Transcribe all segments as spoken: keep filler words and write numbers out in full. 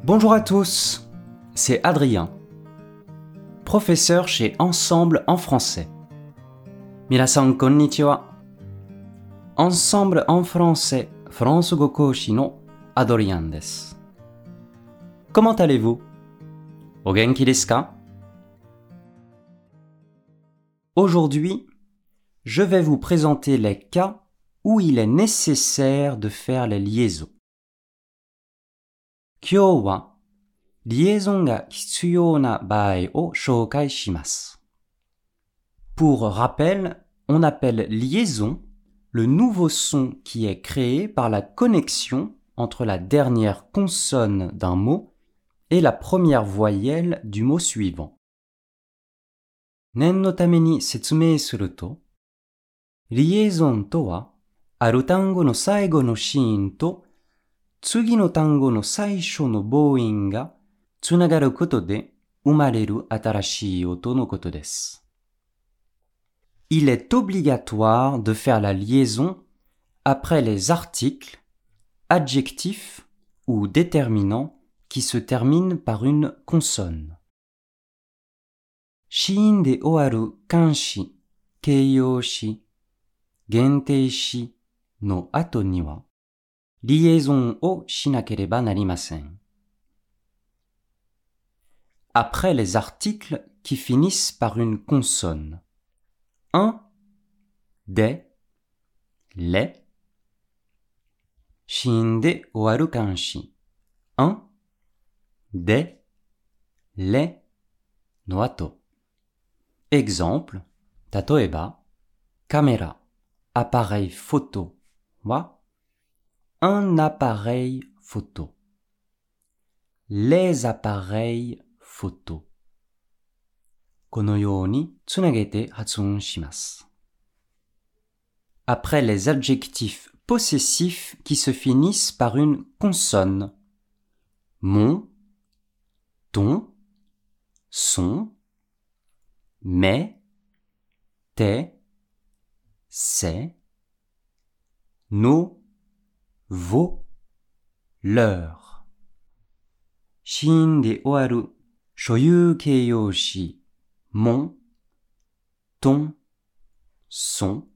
Bonjour à tous, c'est Adrien, professeur chez Ensemble en français. Minasan konnichiwa. Ensemble en français, France Gokoshi no Adrien desu. Comment allez-vous? O genki desu ka? Aujourd'hui, je vais vous présenter les cas où il est nécessaire de faire les liaisons. Kyou wa liaison ga hitsuyou na baai o shoukai shimasu. Pour rappel, on appelle liaison le nouveau son qui est créé par la connexion entre la dernière consonne d'un mot et la première voyelle du mot suivant. Nen no tame ni setsumei suru to, liaison to wa, aru tango no saigo no shiin to, tsugi no tango no saisho no bouin ga tsunagaru koto de umareru atarashii oto no koto desu. Il est obligatoire de faire la liaison après les articles, adjectifs ou déterminants qui se terminent par une consonne. Shiin de owaru kanshi, keiyoushi, genteishi no ato ni wa liaison o shinakereba narimasen. Après les articles qui finissent par une consonne. Un, des, les. Shiin de owaru kanshi. Un, des, les no ato. Exemple, tatoeba, caméra, appareil photo wa un appareil photo. Les appareils photo. Kono you ni tsunagete hatsuon shimasu. Après les adjectifs possessifs qui se finissent par une consonne. Mon, ton, son, mes, tes, ses, nos, vos, leurs. Shiin de owaru shoyuu keiyoushi, mon, ton, son,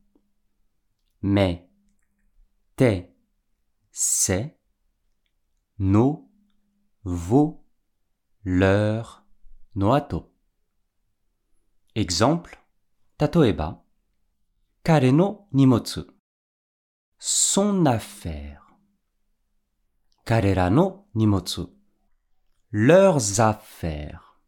mes, tes, ses, nos, vos, leurs, no ato. Exemple, tatoeba, kare no nimotsu, son affaire. Karera no nimotsu, leurs affaires.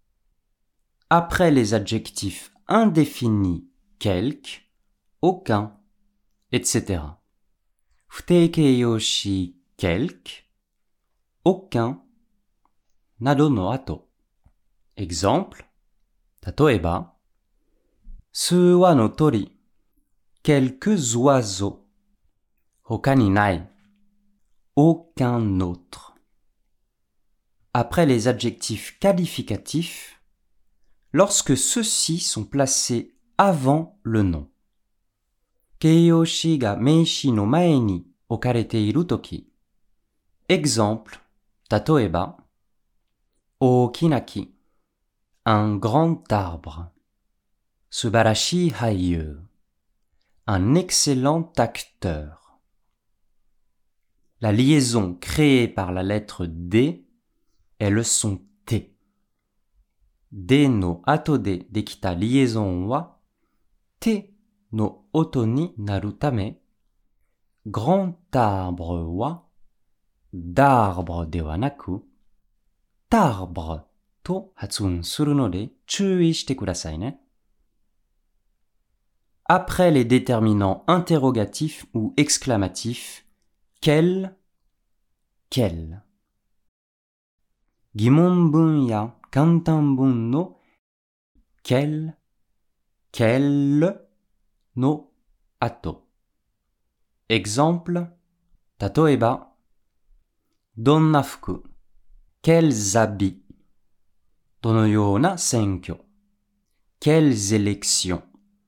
Après les adjectifs indéfinis, quelque, aucun, et cetera. Futei keiyoushi, quelque, aucun, nado no ato. Exemple, tatoeba, suwa no tori, quelques oiseaux. Hoka ni nai, aucun autre. Après les adjectifs qualificatifs, lorsque ceux-ci sont placés avant le nom. Keiyoushi ga meishi no mae ni okarete iru toki. Exemple, tatoeba, ookina ki, un grand arbre. Subarashi haiyuu, un excellent acteur. La liaison créée par la lettre D est le son T. D no ato de dekita liaison wa T no oto ni naru tame, grand arbre wa d'arbre de wa naku, tarbre to hatsuon suru no de chuui shite kudasai ne. Après les déterminants interrogatifs ou exclamatifs, quel, quel. Gimonbun ya kantanbun no quel, quel no ato. Exemple, tatoeba, donna fuku, quels habits. Dono you na senkyo, quelles élections.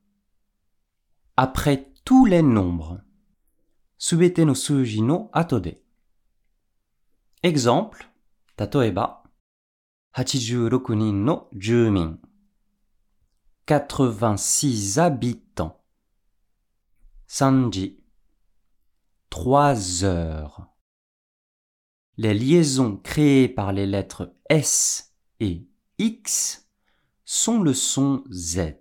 Après tous les nombres. Subete no suji no ato de. Exemple, 例えば、はちじゅうろくにんの住民。quatre-vingt-six habitants. Sanji. Trois heures. Les liaisons créées par les lettres S et X sont le son Z.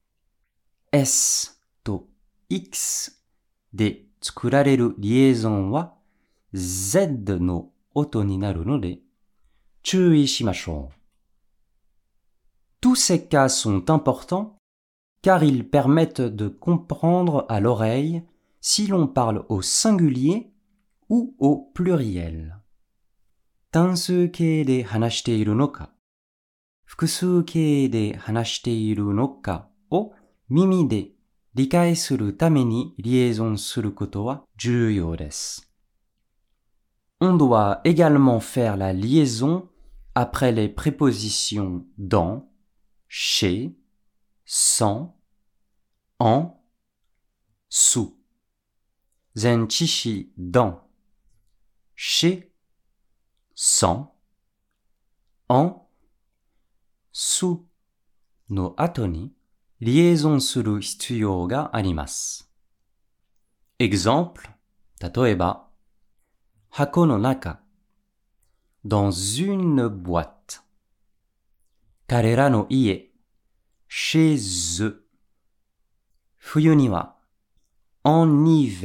S と X で作られるリエゾンは Z の音になるので注意しましょう。Tous ces cas sont importants car ils permettent de comprendre à l'oreille si l'on parle au singulier ou au pluriel. 単数形で話しているのか、複数形で話しているのかを耳で理解するためにリエゾンすることは重要です。On doit également faire la liaison après les prépositions dans, chez, sans, en, sous. 前置詞 dans, chez, sans, en, sous の後にリエゾンする必要があります。Exemple、例えば、箱の中、dans une boîte。彼らの家、chez eux。冬には、en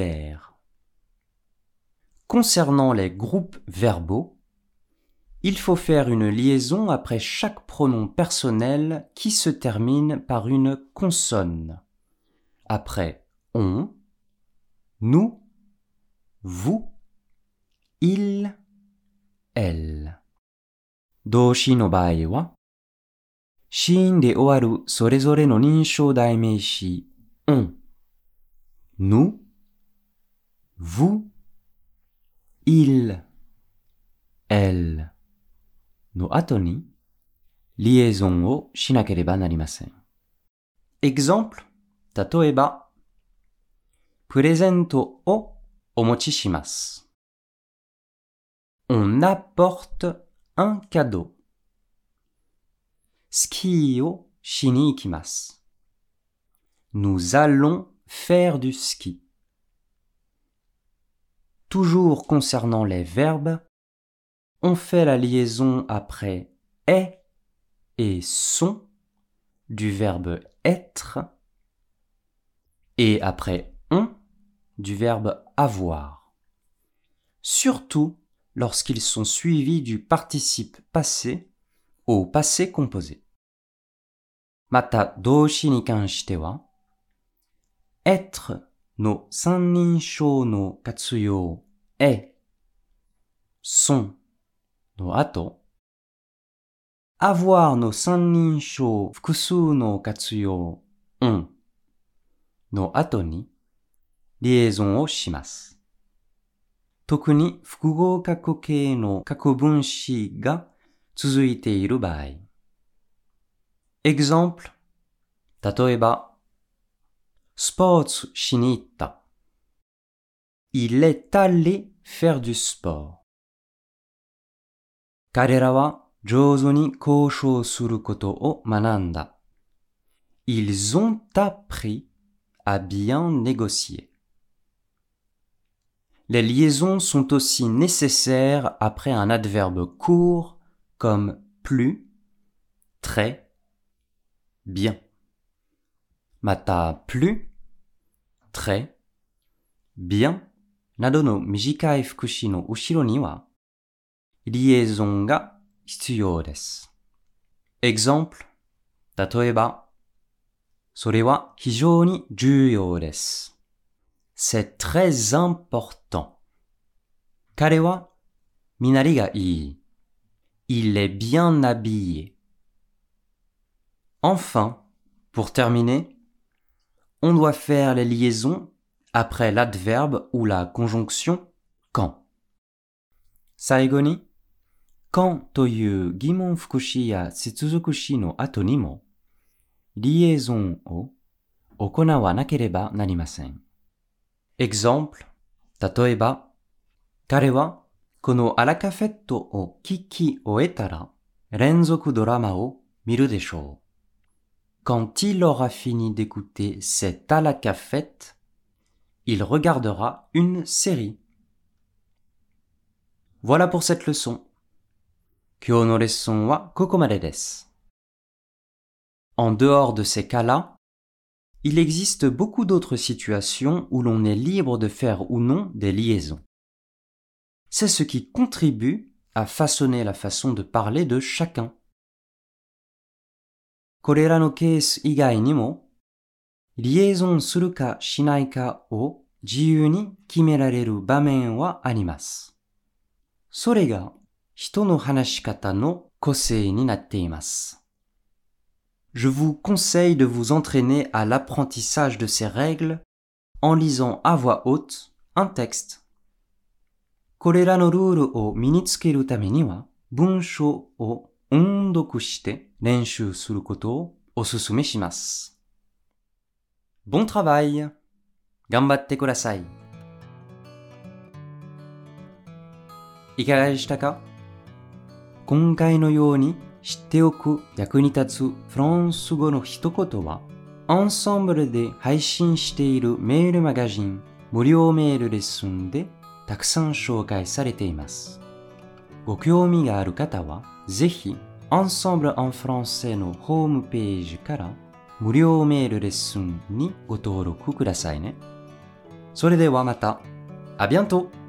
hiver。Concernant les groupes verbaux, il faut faire une liaison après chaque pronom personnel qui se termine par une consonne. Après on, nous, vous, il, elle. 動詞の場合は、子音で終わるそれぞれの認証代名詞 on, nous, vous, il, elle の後にリエゾンをしなければなりません。Exemple、例えば、プレゼントをお持ちします。On apporte un cadeau。スキーをしに行きます。Nous allons faire du ski。Toujours concernant les verbes, on fait la liaison après est et sont du verbe être et après on du verbe avoir. Surtout lorsqu'ils sont suivis du participe passé au passé composé. また動詞に関しては、être の三人称の活用 est、sont の後、avoir の三人称複数の活用 on の後にリエゾンをします。特に複合過去形の過去分詞が続いている場合。Exemple、例えば、スポーツしに行った。Il est allé faire du sport。彼らは上手に交渉することを学んだ。Ils ont appris à bien négocier. Les liaisons sont aussi nécessaires après un adverbe court comme plus, très, bien. また、plus, très, bien などの短い副詞の後ろには、リエゾンが必要です。Exemple、例えば、それは非常に重要です。C'est très important. 彼は身なりがいい。Il est bien habillé. Enfin, pour terminer, on doit faire les liaisons après l'adverbe ou la conjonction quand. 最後に、quand という疑問副詞や接続詞の後にも、リエゾンを行わなければなりません。Exemple、例えば、彼はこのアラカフェットを聞き終えたら、連続ドラマを見るでしょう。Quand il aura fini d'écouter cet à la cafette, il regardera une série. Voilà pour cette leçon. 今日のレッスンはここまでです。En dehors de ces cas-là, il existe beaucoup d'autres situations où l'on est libre de faire ou non des liaisons. C'est ce qui contribue à façonner la façon de parler de chacun. これらのケース以外にも、リエゾンするかしないかを自由に決められる場面はあります。それが人の話し方の個性になっています。Je vous conseille de vous entraîner à l'apprentissage de ces règles en lisant à voix haute un texte. これらのルールを身につけるためには、文章を音読して練習することをお勧めします。Bon travail! 頑張ってください。いかがでしたか？今回のように知っておく役に立つフランス語の一言は、Ensembleで配信しているメールマガジン、無料メールレッスンでたくさん紹介されています。ご興味がある方は、ぜひ Ensemble en français のホームページから無料メールレッスンにご登録くださいね。それではまた。À bientôt!